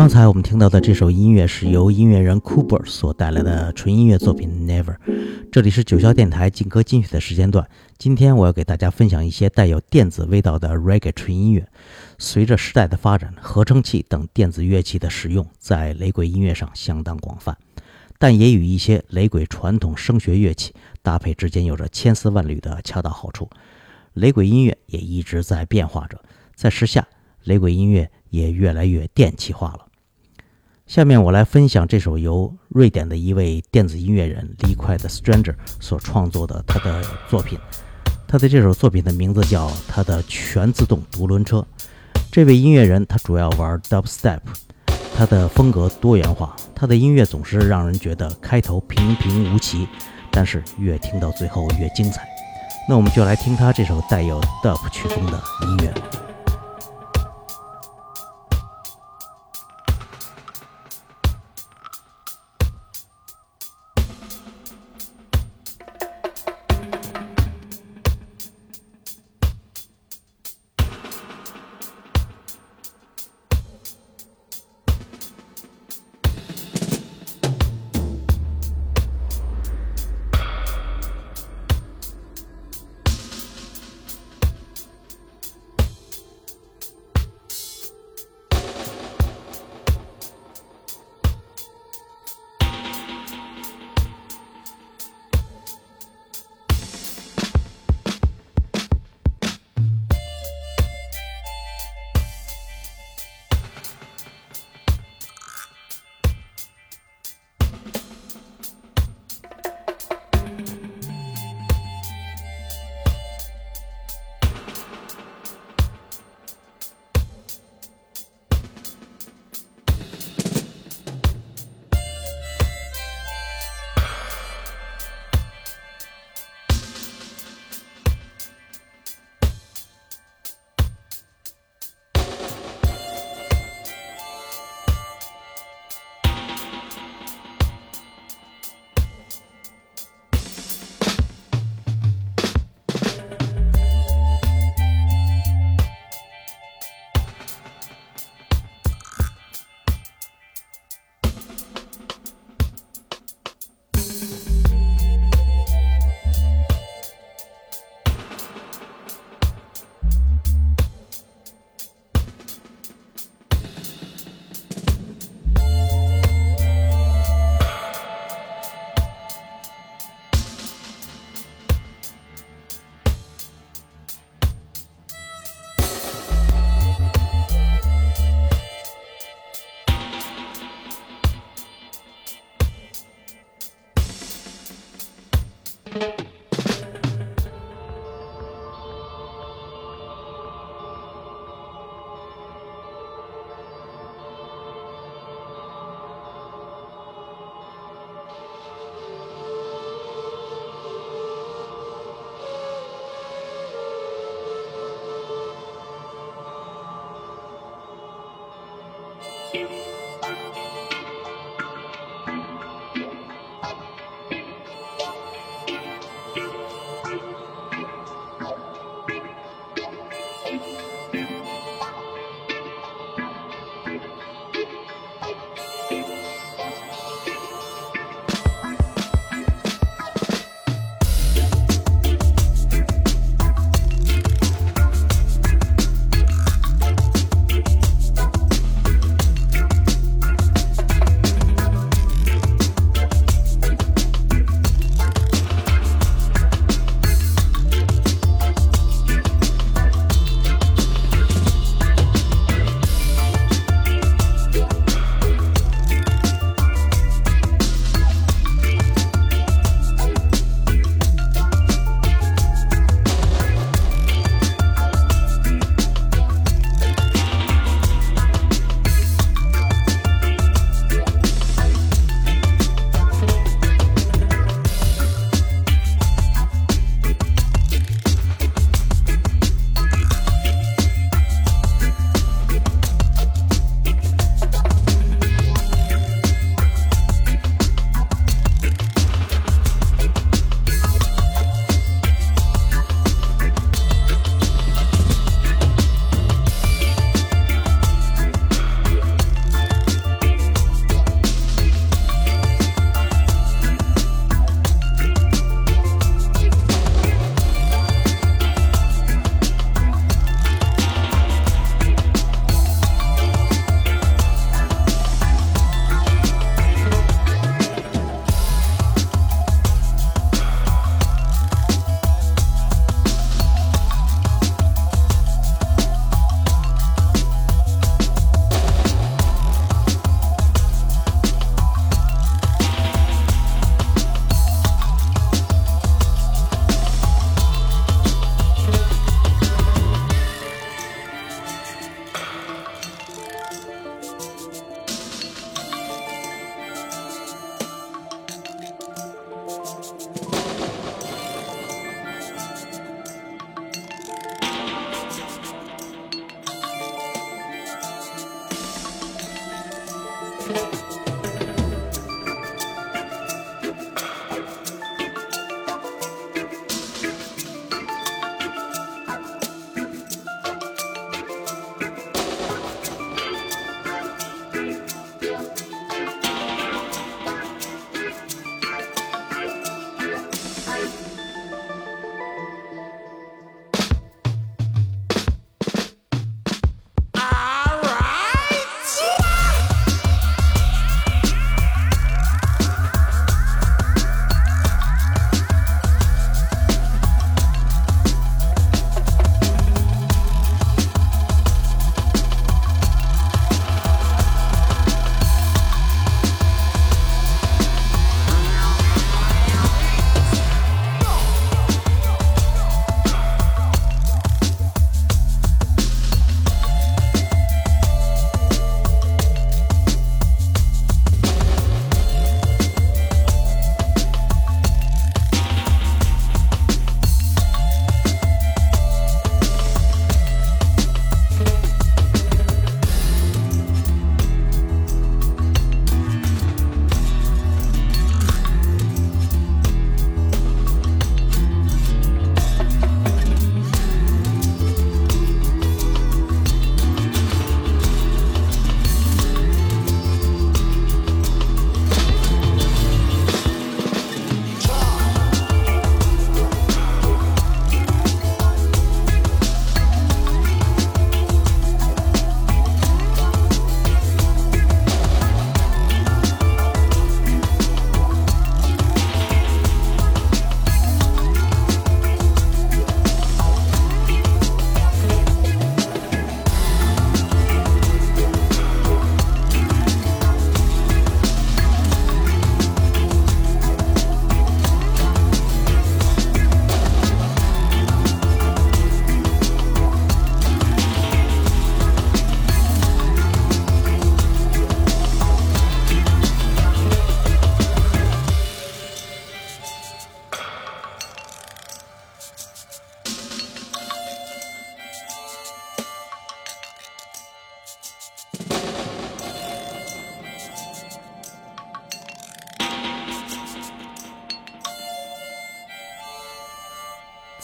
刚才我们听到的这首音乐是由音乐人 Cooper 所带来的纯音乐作品 Never。 这里是九霄电台劲歌金曲的时间段，今天我要给大家分享一些带有电子味道的 Reggae 纯音乐。随着时代的发展，合成器等电子乐器的使用在雷鬼音乐上相当广泛，但也与一些雷鬼传统声学乐器搭配之间有着千丝万缕的恰到好处。雷鬼音乐也一直在变化着，在时下雷鬼音乐也越来越电气化了。下面我来分享这首由瑞典的一位电子音乐人 Liquid Stranger 所创作的他的作品。他的这首作品的名字叫他的全自动独轮车。这位音乐人他主要玩 Dubstep， 他的风格多元化，他的音乐总是让人觉得开头平平无奇，但是越听到最后越精彩。那我们就来听他这首带有 Dub 曲风的音乐。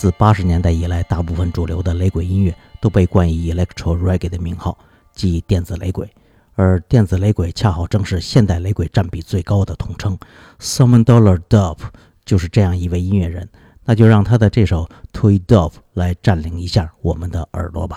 自80年代以来，大部分主流的雷鬼音乐都被冠以 Electro Reggae 的名号，即电子雷鬼。而电子雷鬼恰好正是现代雷鬼占比最高的统称。Simon Dollar Dub 就是这样一位音乐人，那就让他的这首 Toy Dub 来占领一下我们的耳朵吧。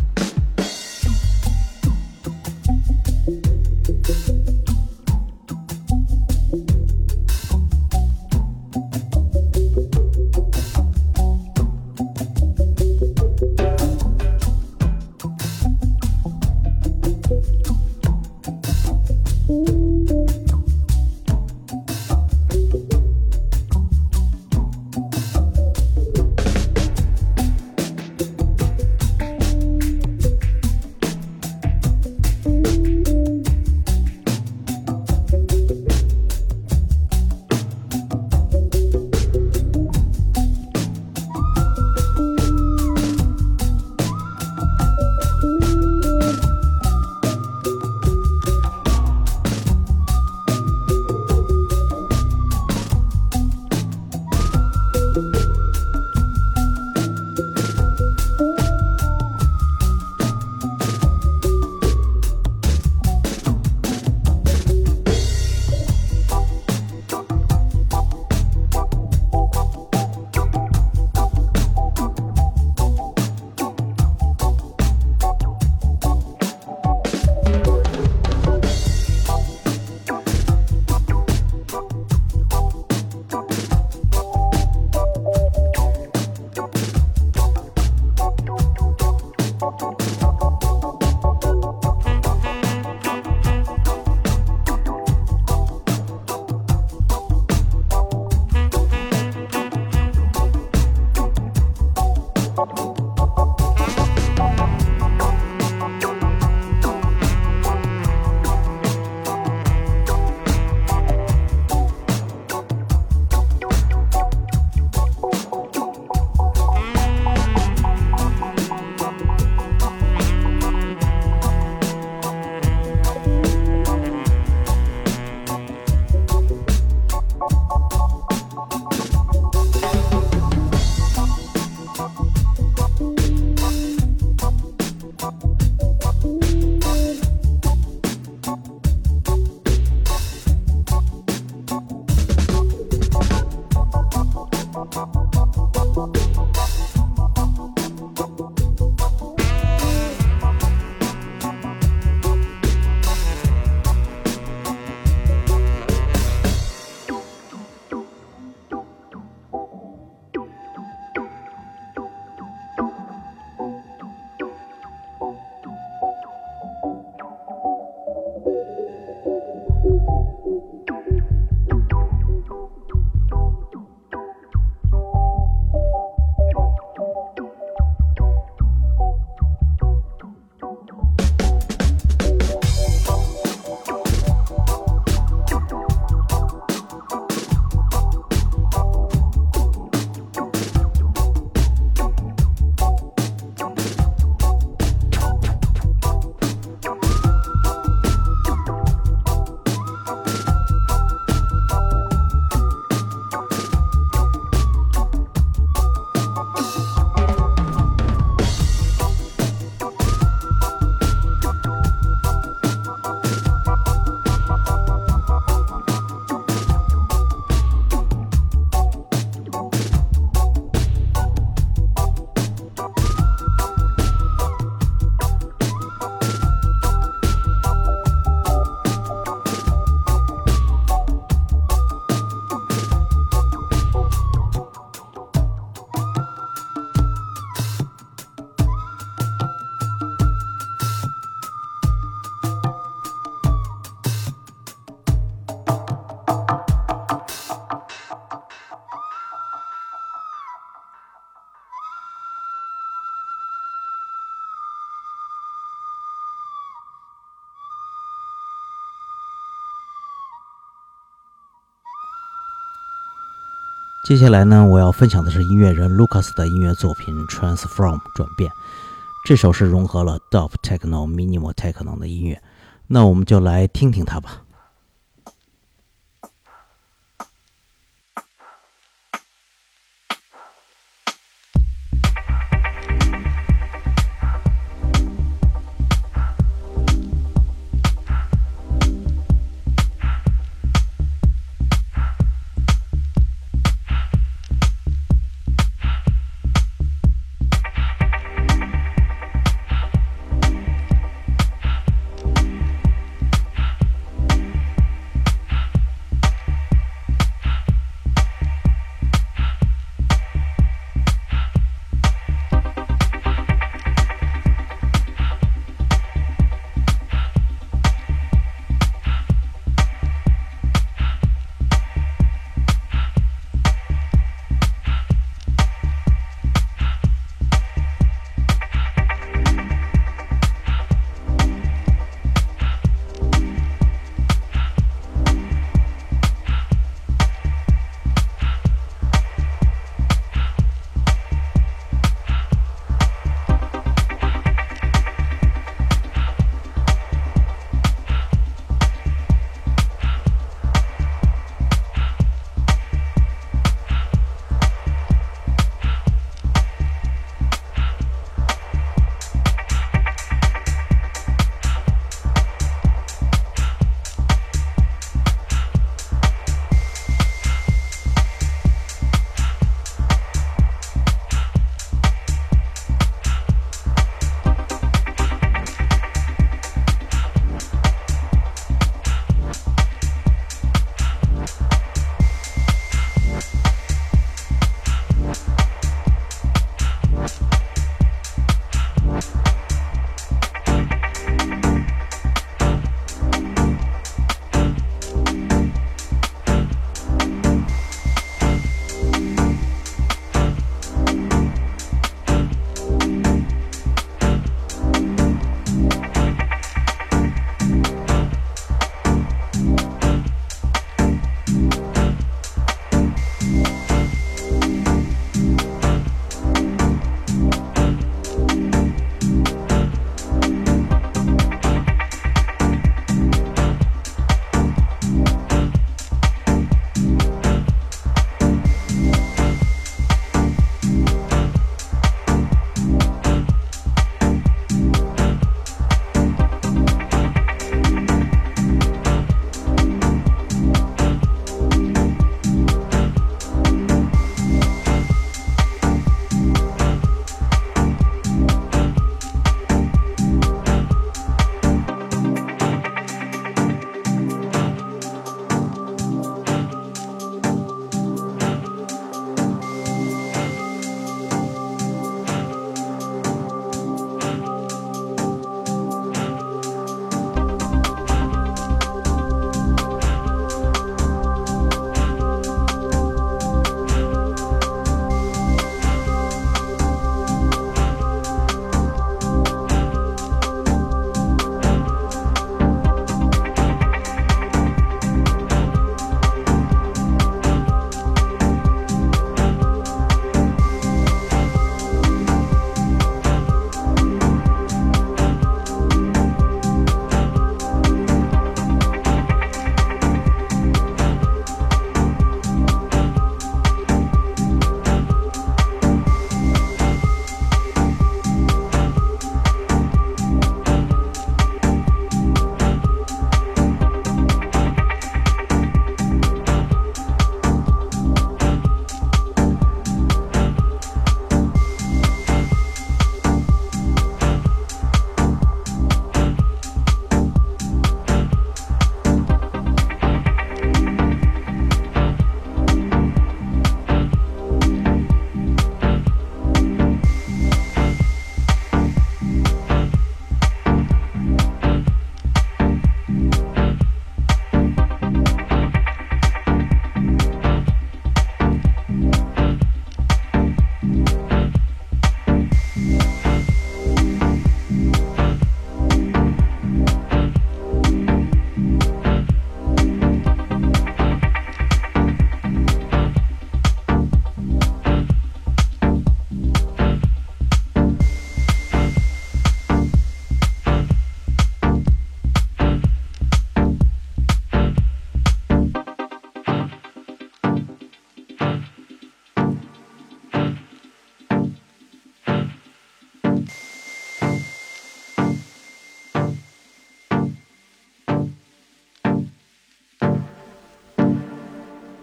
接下来呢，我要分享的是音乐人 Lucas 的音乐作品 Transform 转变。这首是融合了 Dub Techno、Minimal Techno 的音乐，那我们就来听听它吧。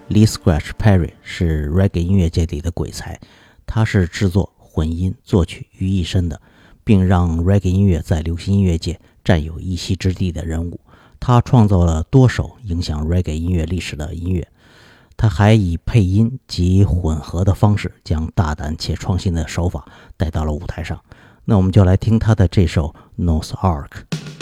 Lee Scratch Perry 是 Reggae 音乐界里的鬼才，他是制作、混音、作曲于一身的，并让 Reggae 音乐在流行音乐界占有一席之地的人物。他创造了多首影响 Reggae 音乐历史的音乐，他还以配音及混合的方式将大胆且创新的手法带到了舞台上。那我们就来听他的这首 North Ark。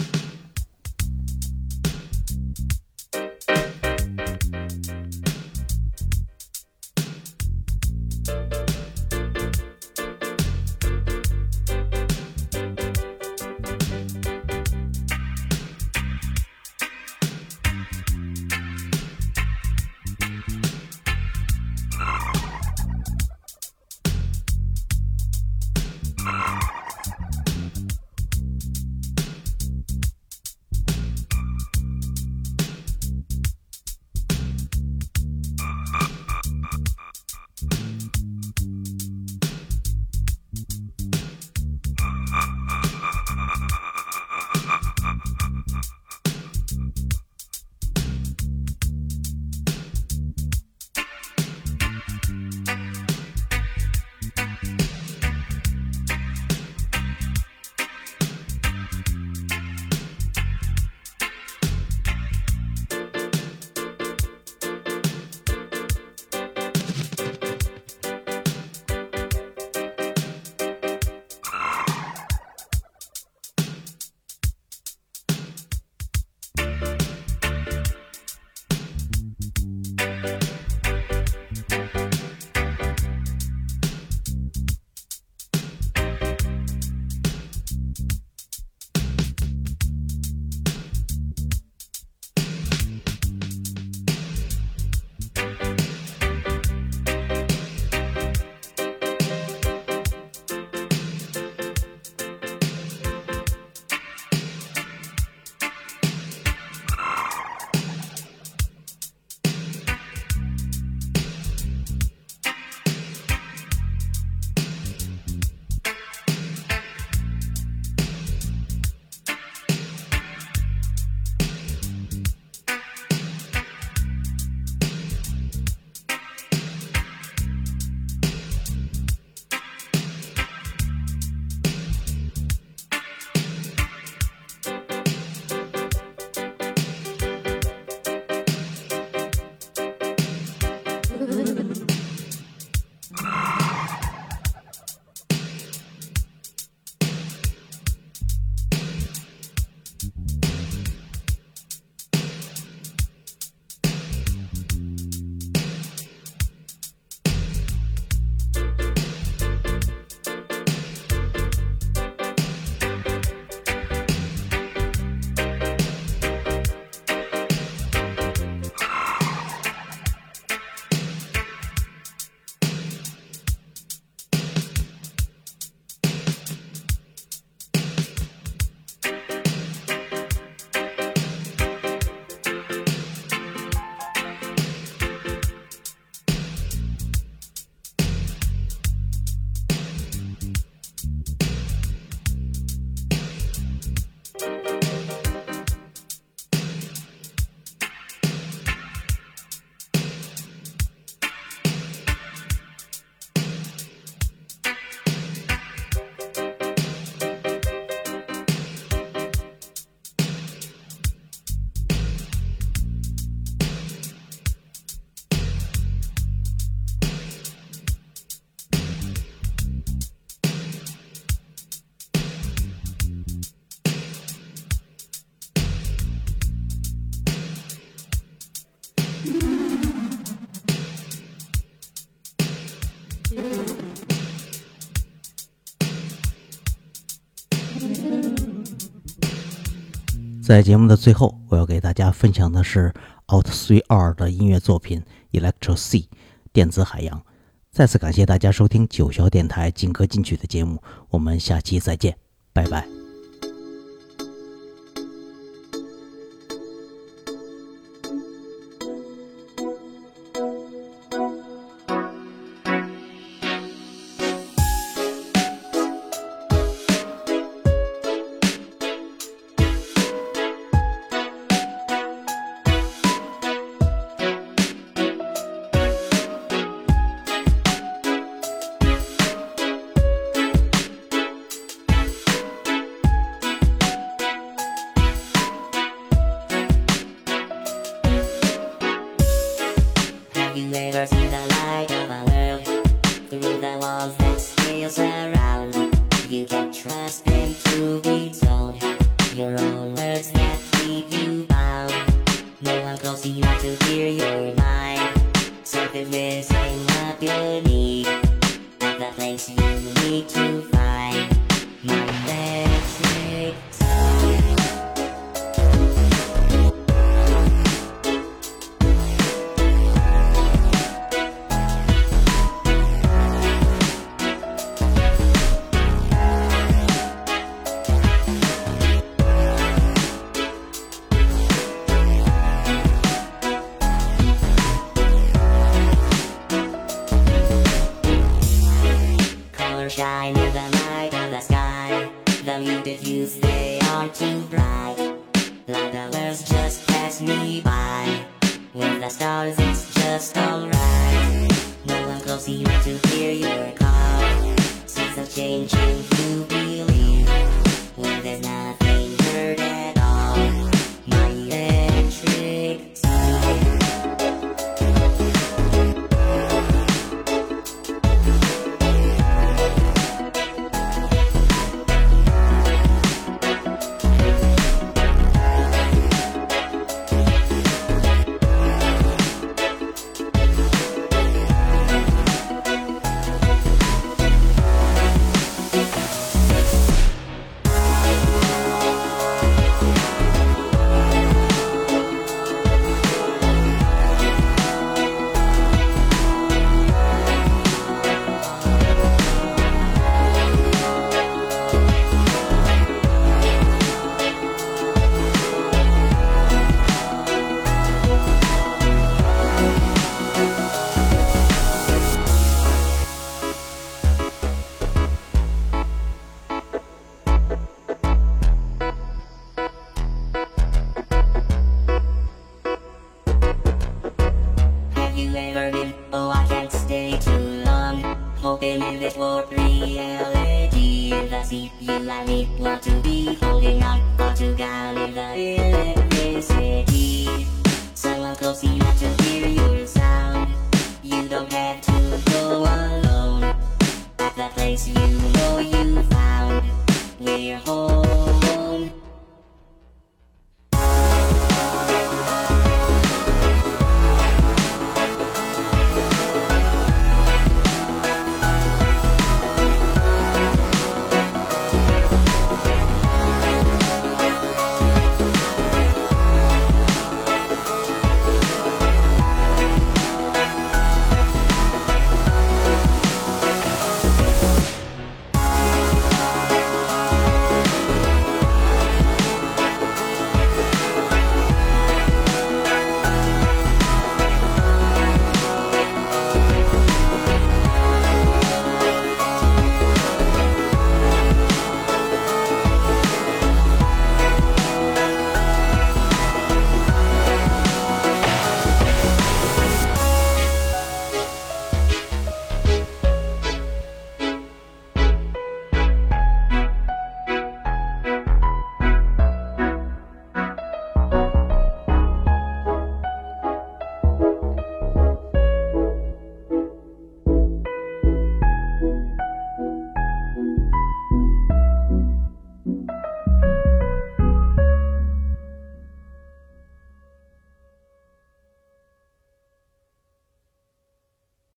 在节目的最后，我要给大家分享的是 Out3R 的音乐作品 Electro Sea 电子海洋。再次感谢大家收听九霄电台劲歌金曲的节目，我们下期再见，拜拜。 close enough to hear your mind. Something missing what you need, at the place you need to find. My electric sound. Shine in the night of the sky. The muted hues, they are too bright. Like the birds just pass me by. With the stars it's just alright. No one close enough to hear your call. Seasons changing, you believe, when there's nothing heard at all. My electric sound. Oh, I can't stay too long, hoping in this warped reality. In the seat you and me want to be holding on to God in the electricity. Someone close enough to hear your sound. You don't have to go alone, at the place you know you found. We're home.